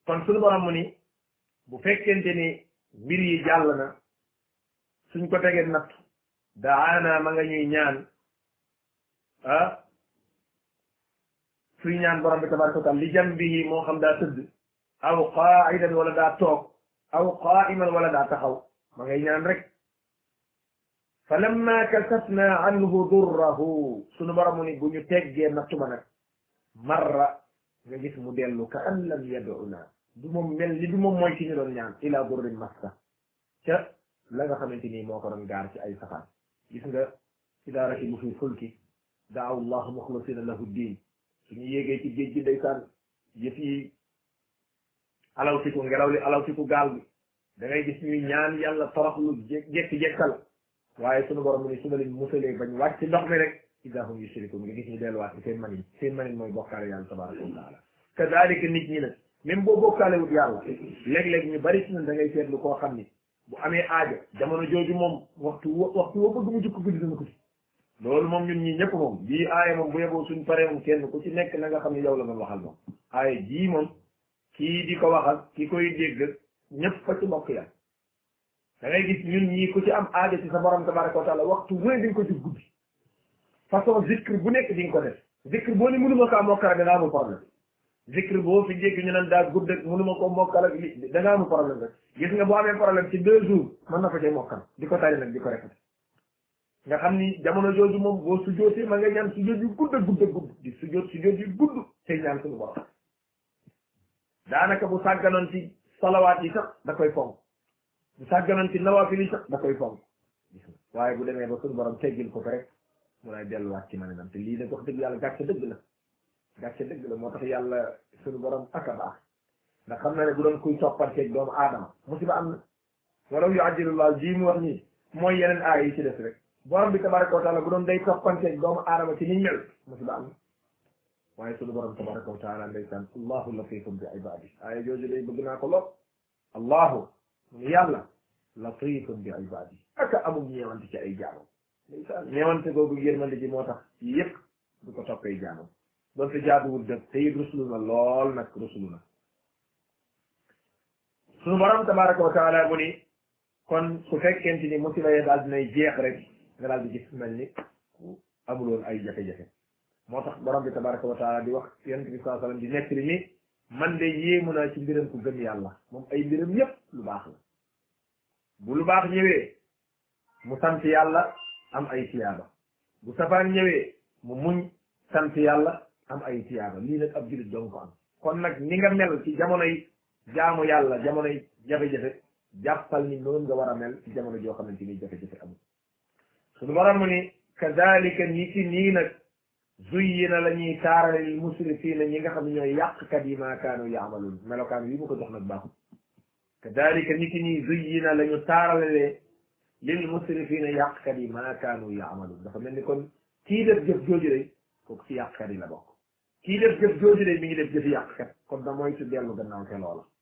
kon suñu borom mu ni bu fekkente ni mbir yi jàll na suñ ko tegee natt daana ma nga ñuy ñaan suy ñaan borom bi tabaraka wa taala li jambihi moo xam daa tëdd aw qaa'idan wala daa toog aw qaa'iman wala daa taxaw ma ngay ñaan rek fa lamma kasafna anhu durrahu sunu borom mu ni bu ñu teggee nattu ba nag marra nga gis mu dellu ka an lam yad'una du moom mel ni du moom mooy ci ñu doon ñaan ila durrin massa ca la nga xamante ni moo ko doon gaar ci ay safaan gis nga idaa rakibu fi fulki daaw allah muxlisina lahu diin suñu yéegee ci géej gi ndeysaan yëf yi alawtiku ngelaw li alawtiku gaal bi da ngay gis ñuy ñaan yàlla toroxlu jekki-jekkal waaye sunu borom mu ni su ma leen musalee bañ wàcc ci ndox mi rek idaa hum yushrikun nga gis ñu delluwaat ci seen manin mooy bokkaale yàlla tabaraka wa taala kadalika nit ñi nag même boo bokkaale wut yàlla léeg-léeg ñu bari ci ñun da ngay seetlu koo xam ni bu amee aajo jamono jooju moom waxtu woo bëgg mu jukk guddi dana ko ci loolu moom ñun ñi ñëpp moom bii aaya moom bu yeboo suñ paree moom kenn ku ci nekk na nga xam ne yow la doon waxal moom aaya jii moom kii di ko waxal ki koy dégg ñëpp fa ci bokk yàlla da ngay gis ñun ñii ku ci am aajo ci sa borom tabaraka wa taala waxtu wéy di nga ko ci guddi façon zikr bu nekk di nga ko def zikr boo ni mënuma kaa mokkal da nga amul problème zikr boo fi jéggi ñu naan daa gudd ak mënuma ko mokkal ak da nga amul problème rek gis nga boo amee problème ci 2 jours mën na ko cay mokkal di ko tari nag di ko répété nga xam ni jamono jooju moom boo sujjootee ma nga ñaan sujjoot yu gudd di sujjoot yu gudd tey ñaan suñu borom daanaka bu sàgganoon ci salawaat yi sax da koy fonk bu sàgganoon ci nawaafil yi sax da koy fonk waaye bu demee ba suñu borom teggil ko rek mu lay delluwaat ci manenam te lii nag wax dëgg yàlla gàcce dëgg la moo tax yàlla suñu borom ak a baax ndax xam na ne bu doon kuy toppanteeg doomu aadama musiba am na walaw yu'ajjilullahu ji mu wax nii mooy yeneen aay yi ci des rek borom bi tabaraka wa taala bu doon day toppanteeg doomu aadama ci ni mel musiba am na waaye suñu borom tabaraka wa taala ndeysaan allahu latifun bi ibadi aaya jooju day bëgg naa ko lool allahu yàlla latifun bi ibadi aka amul ñeewante ci ay jaamam ndeysaan ñeewante googu yërmande ji moo tax yëpp du ko toppee jaamam doon te jaaduwul dëgg te it rusulu na lool nag rusulu na suñu borom tabaraka wa taala mu ni kon su fekkente ni musiba yi daal dinay jeex rek nga daal di gis mel ni amuloon ay jafe-jafe moo tax borom bi tabaraka wa taala di wax yonent bi sallallahu alayhi wasallam di nettali ni man de yéemu naa ci mbiram ku gëm yàlla moom ay mbiram yépp lu baax la bu lu baax ñëwee mu sant yàlla am ay tiyaaba bu safaan ñëwee mu muñ sant yàlla am ay tiyaaba lii nag ab jullit doon ko am kon nag ni nga mel ci jamonoy jaamu yàlla jamonoy jafe-jafe jàppal ni noonu nga war a mel ci jamono joo xamante ni jafe-jafe amul suñu borom mu ni kadalika ni ki nii nag zuyyina la ñuy taarale lil musrifina ñi nga xam ne ñooy yàqkat yi maa kaanu yaamaluun melokaan wi mu ko jox nag baaxul kadalika ni ki nii zuyyina la ñu taarale lil musrifina yàqkat yi maa kaanu yaamaluun dafa mel ni kon kii def jëf jooju day kooku ci yàqkat yi la bokk kii def jëf jooju day mi ngi def jëfi yàqkat kon da mooy su dellu gannaaw te loola